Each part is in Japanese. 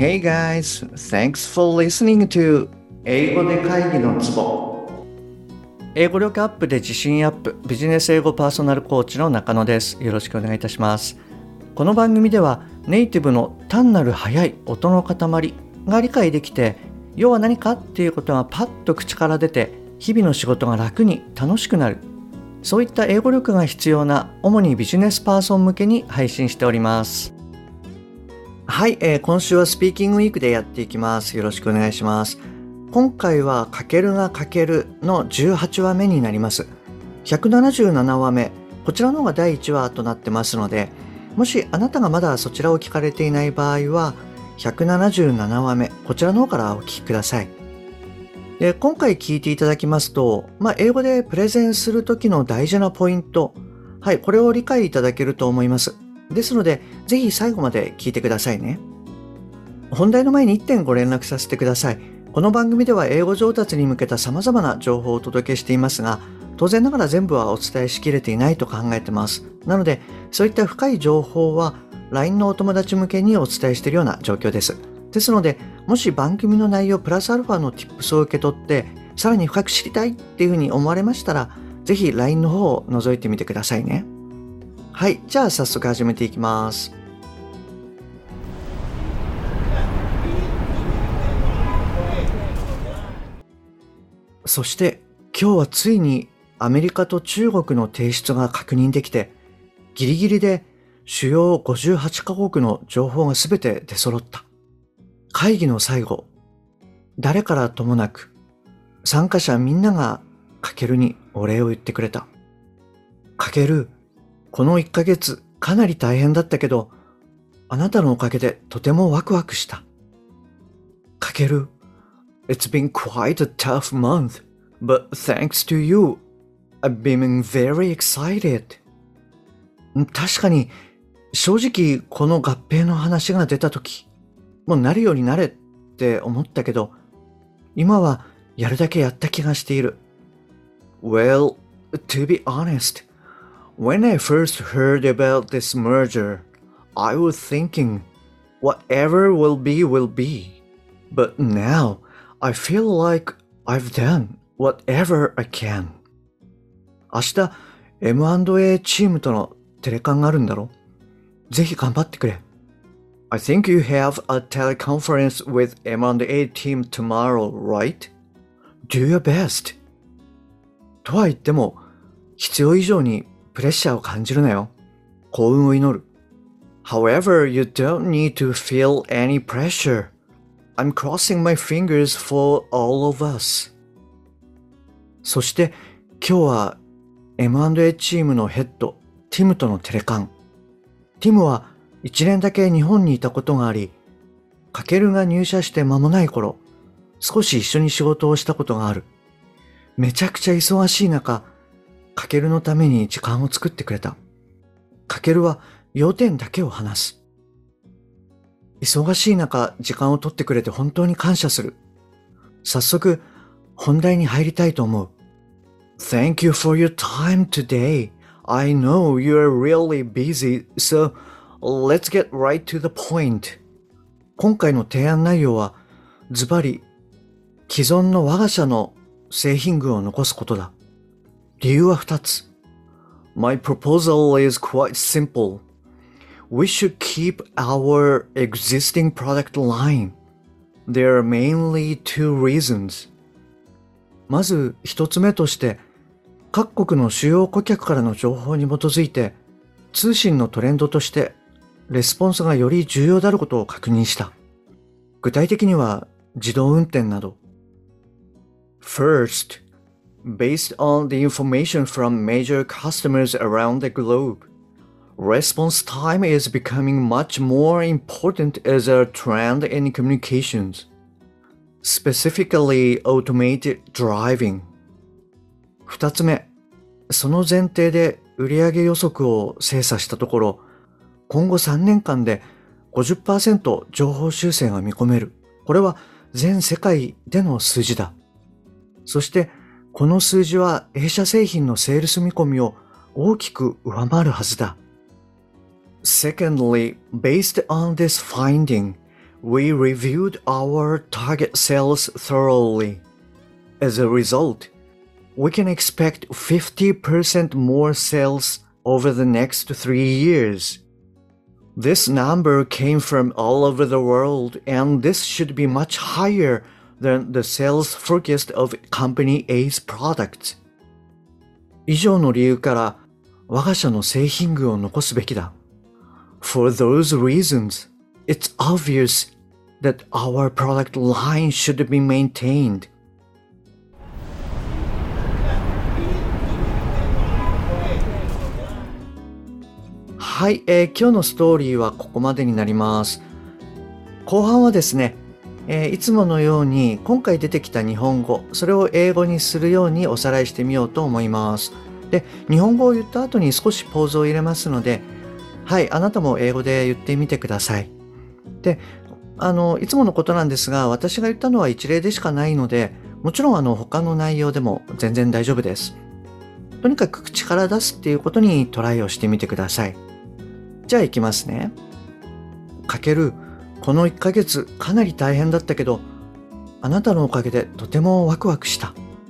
Hey guys, thanks for listening to 英語で会議のツボ。英語力アップで自信アップ、ビジネス英語パーソナルコーチの中野です。よろしくお願いいたします。この番組ではネイティブの単なる速い音の塊が理解できて、要は何かっていうことがパッと口から出て、日々の仕事が楽に楽しくなる。そういった英語力が必要な主にビジネスパーソン向けに配信しております。はい、今週はスピーキングウィークでやっていきます。よろしくお願いします。今回はかけるがかけるの18話目になります。177話目、こちらの方が第1話となってますので、もしあなたがまだそちらを聞かれていない場合は、177話目、こちらの方からお聞きください。で、今回聞いていただきますと、英語でプレゼンするときの大事なポイント、はい、これを理解いただけると思います。ですので、ぜひ最後まで聞いてくださいね。本題の前に1点ご連絡させてください。この番組では英語上達に向けた様々な情報をお届けしていますが、当然ながら全部はお伝えしきれていないと考えてます。なので、そういった深い情報は LINE のお友達向けにお伝えしているような状況です。ですので、もし番組の内容プラスアルファの Tips を受け取って、さらに深く知りたいっていうふうに思われましたら、ぜひ LINE の方を覗いてみてくださいね。はい、じゃあ早速始めていきます。そして今日はついにアメリカと中国の提出が確認できて、ギリギリで主要58カ国の情報がすべて出揃った。会議の最後、誰からともなく参加者みんながかけるにお礼を言ってくれた。かける、この1ヶ月かなり大変だったけど、あなたのおかげでとてもワクワクした。かける、It's been quite a tough month, but thanks to you, I've been very excited. 確かに、正直この合併の話が出たとき、もうなるようになれって思ったけど、今はやるだけやった気がしている。Well, to be honest, when I first heard about this merger, I was thinking, whatever will be. But now, I feel like I've done whatever I can. 明日 M&A チームとのテレカンがあるんだろ？ぜひ頑張ってくれ。I think you have a teleconference with M&A team tomorrow, right? Do your best. とは言っても、必要以上にプレッシャーを感じるなよ。幸運を祈る。However, you don't need to feel any pressure.I'm crossing my fingers for all of us. そして今日は M&A チームのヘッド、ティムとのテレカン。ティムは1年だけ日本にいたことがあり、カケルが入社して間もない頃、少し一緒に仕事をしたことがある。めちゃくちゃ忙しい中、カケルのために時間を作ってくれた。カケルは要点だけを話す。忙しい中、時間を取ってくれて本当に感謝する。早速、本題に入りたいと思う。Thank you for your time today. I know you're really busy, so let's get right to the point. 今回の提案内容は、ズバリ、既存の我が社の製品群を残すことだ。理由は2つ。My proposal is quite simple.We should keep our existing product line. There are mainly two reasons. まず一つ目として、各国の主要顧客からの情報に基づいて、通信のトレンドとして、レスポンスがより重要であることを確認した。具体的には自動運転など。First, based on the information from major customers around the globe,Response time is becoming much more important as a trend in communications, specifically automated driving. 二つ目、その前提で売上予測を精査したところ、今後3年間で 50% 情報修正が見込める。これは全世界での数字だ。そしてこの数字は弊社製品のセールス見込みを大きく上回るはずだ。Secondly, based on this finding, We reviewed our target sales thoroughly. As a result, we can expect 50% more sales over the next 3 years. This number came from all over the world, and this should be much higher than the sales forecast of Company A's products. 以上の理由から我が社の製品群を残すべきだ。For those reasons, it's obvious that our product line should be maintained. はい、今日のストーリーはここまでになります。後半はですね、いつものように今回出てきた日本語、それを英語にするようにおさらいしてみようと思います。で、日本語を言った後に少しポーズを入れますので、はい、あなたも英語で言ってみてください。で、いつものことなんですが、私が言ったのは一例でしかないので、もちろん他の内容でも全然大丈夫です。とにかく口から出すっていうことにトライをしてみてください。じゃあ行きますね。かける、この1ヶ月かなり大変だったけど、あなたのおかげでとてもワクワクした。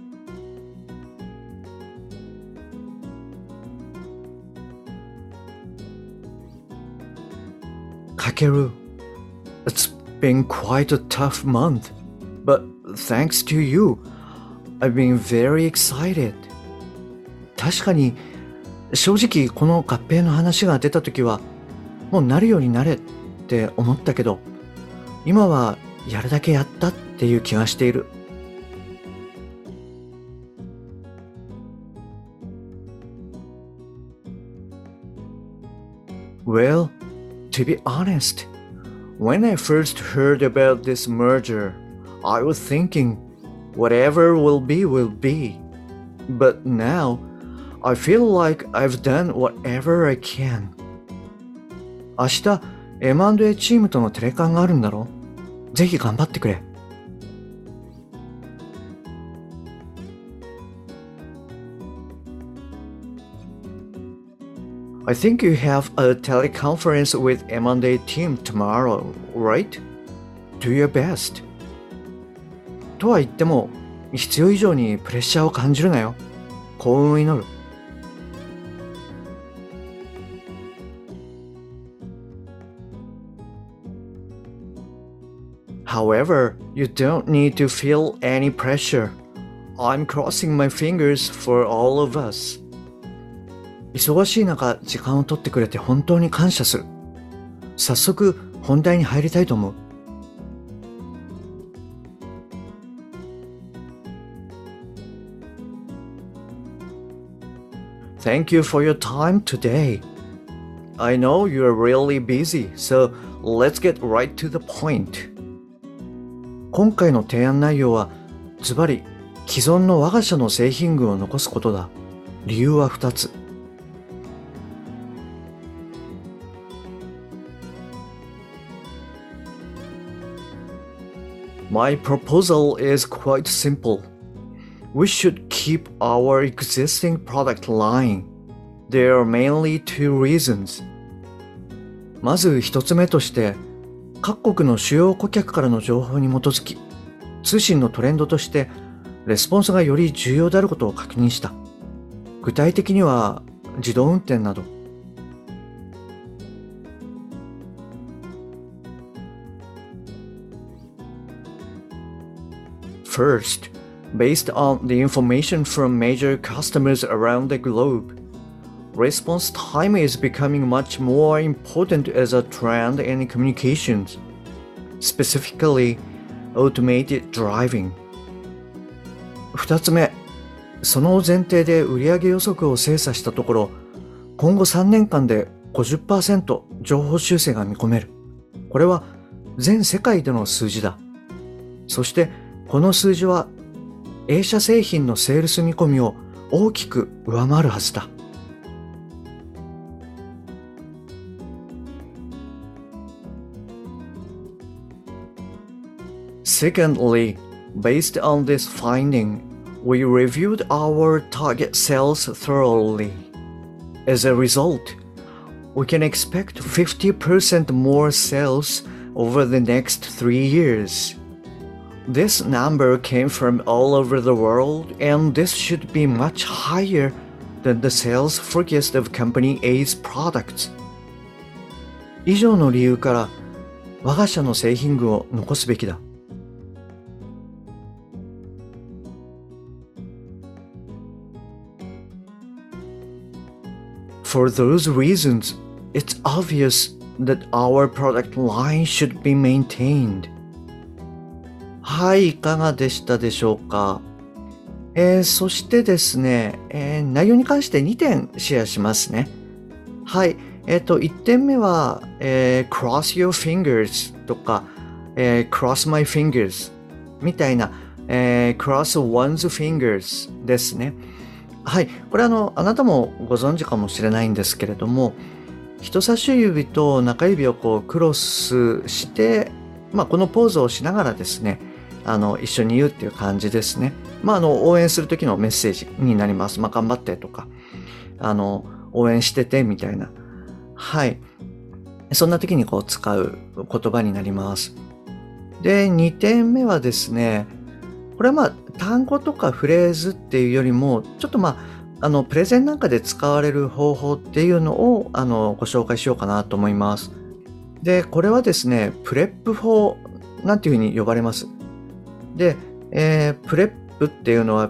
かける、It's been quite a tough month, but thanks to you, I've been very excited. 確かに、正直この合併の話が出た時は、もうなるようになれって思ったけど、今はやるだけやったっていう気がしている。Well, to be honest, when I first heard about this merger, I was thinking, whatever will be will be. But now, I feel like I've done whatever I can. 明日 M&A チームとのテレカンがあるんだろ？ぜひ頑張ってくれ。I think you have a teleconference with M&A team tomorrow, right? Do your best. とは言っても、必要以上にプレッシャーを感じるなよ。幸運を祈る。However, you don't need to feel any pressure. I'm crossing my fingers for all of us. 忙しい中、時間を取ってくれて本当に感謝する。早速、本題に入りたいと思う。Thank you for your time today. I know you're really busy, so let's get right to the point. 今回の提案内容は、ズバリ既存の我が社の製品群を残すことだ。理由は2つ。My proposal is quite simple. We should keep our existing product line. There are mainly two reasons. まず一つ目として、各国の主要顧客からの情報に基づき、通信のトレンドとしてレスポンスがより重要であることを確認した。具体的には自動運転など。First, based on the information from major customers around the globe, response time is becoming much more important as a trend in communications, specifically automated driving. 2つ目、その前提で売上予測を精査したところ、今後3年間で 50% 情報修正が見込める。これは全世界での数字だ。そしてこの数字は A 社製品のセールス見込みを大きく上回るはずだ。Secondly, based on this finding, we reviewed our target sales thoroughly. As a result, we can expect 50% more sales over the next 3 years. This number came from all over the world, and this should be much higher than the sales forecast of Company A's products. 以上の理由から我が社の製品群を残すべきだ。For those reasons, it's obvious that our product line should be maintained. はい、いかがでしたでしょうか。そしてですね、内容に関して2点シェアしますね。はい、1点目は、cross your fingers とか、cross my fingers みたいな、cross one's fingers ですね。はい、これあなたもご存知かもしれないんですけれども、人差し指と中指をこうクロスして、このポーズをしながらですね、一緒に言うっていう感じですね。応援する時のメッセージになります。頑張ってとか、応援しててみたいな。はい。そんな時にこう使う言葉になります。で、2点目はですね、これは単語とかフレーズっていうよりも、ちょっとプレゼンなんかで使われる方法っていうのを、ご紹介しようかなと思います。で、これはですね、プレップ法なんていうふうに呼ばれます。で、プレップっていうのは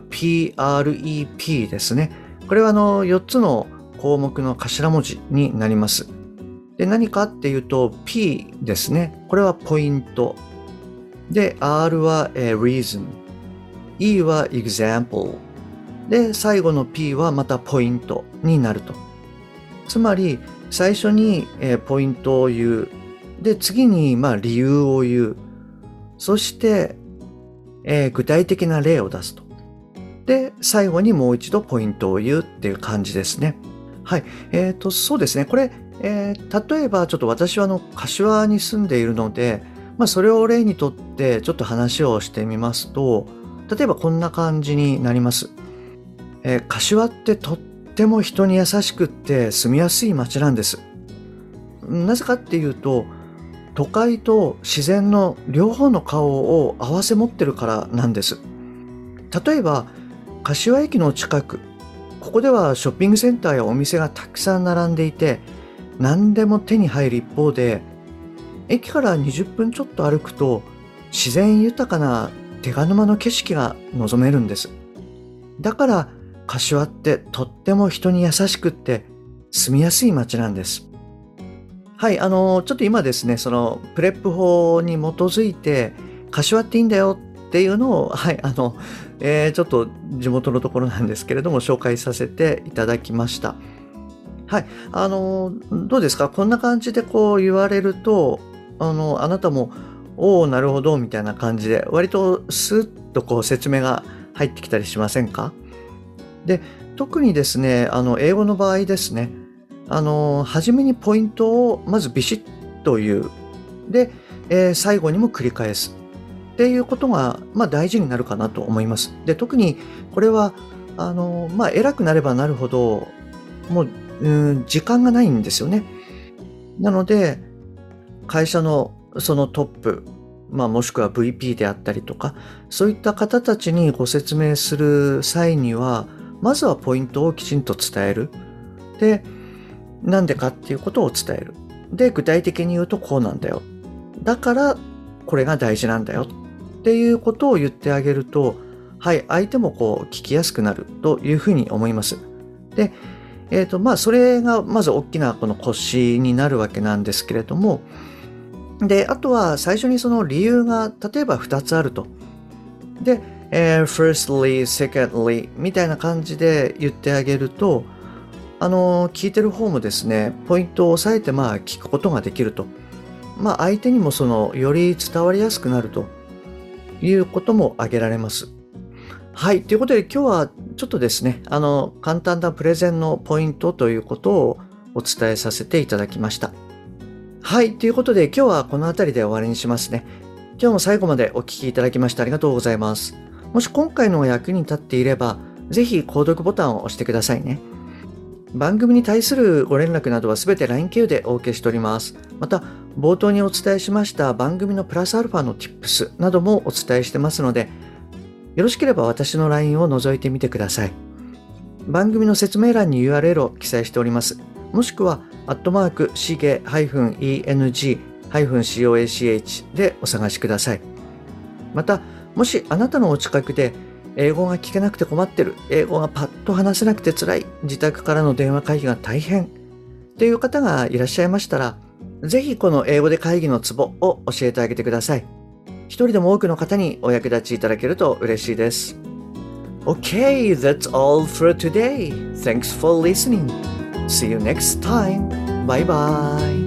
PREP ですね。これは4つの項目の頭文字になります。で、何かっていうと P ですね。これはポイント。で、R は、reason。E は example。で、最後の P はまたポイントになると。つまり、最初に、ポイントを言う。で、次に理由を言う。そして、具体的な例を出すと。で、最後にもう一度ポイントを言うっていう感じですね。はい。そうですね。これ、例えばちょっと私は柏に住んでいるので、それを例にとってちょっと話をしてみますと、例えばこんな感じになります。柏ってとっても人に優しくって住みやすい街なんです。なぜかっていうと、都会と自然の両方の顔を合わせ持ってるからなんです。例えば、柏駅の近く、ここではショッピングセンターやお店がたくさん並んでいて、何でも手に入る一方で、駅から20分ちょっと歩くと、自然豊かな手賀沼の景色が望めるんです。だから、柏ってとっても人に優しくって住みやすい街なんです。はい、ちょっと今ですね、そのプレップ法に基づいて、柏っていいんだよっていうのを、はい、ちょっと地元のところなんですけれども、紹介させていただきました。はい、どうですか？こんな感じでこう言われると、あなたも、おお、なるほど、みたいな感じで、割とスッとこう説明が入ってきたりしませんか？で、特にですね、英語の場合ですね、初めにポイントをまずビシッと言う。で、最後にも繰り返す。っていうことが、大事になるかなと思います。で、特にこれは、偉くなればなるほど、もう、時間がないんですよね。なので、会社のそのトップ、もしくは VP であったりとか、そういった方たちにご説明する際には、まずはポイントをきちんと伝える。で、なんでかっていうことを伝える。で、具体的に言うとこうなんだよ。だから、これが大事なんだよ。っていうことを言ってあげると、はい、相手もこう聞きやすくなるというふうに思います。で、それがまず大きなこの腰になるわけなんですけれども、で、あとは最初にその理由が例えば2つあると。で、firstly, secondly みたいな感じで言ってあげると、聞いてる方もですね、ポイントを押さえて聞くことができると。相手にもより伝わりやすくなるということも挙げられます。はい。ということで今日はちょっとですね、簡単なプレゼンのポイントということをお伝えさせていただきました。はい。ということで今日はこの辺りで終わりにしますね。今日も最後までお聞きいただきましてありがとうございます。もし今回の役に立っていれば、ぜひ購読ボタンを押してくださいね。 番組に対するご連絡などはすべて LINE 経由でお受けしております。また、冒頭にお伝えしました番組のプラスアルファの Tips などもお伝えしてますので、よろしければ私の LINE を覗いてみてください。番組の説明欄に URL を記載しております。もしくは、@shige-eng-coach でお探しください。また、もしあなたのお近くで英語が聞けなくて困ってる、英語がパッと話せなくて辛い、自宅からの電話会議が大変という方がいらっしゃいましたら、ぜひこの英語で会議のツボを教えてあげてください。一人でも多くの方にお役立ちいただけると嬉しいです。Okay, that's all for today. Thanks for listening. See you next time. Bye bye.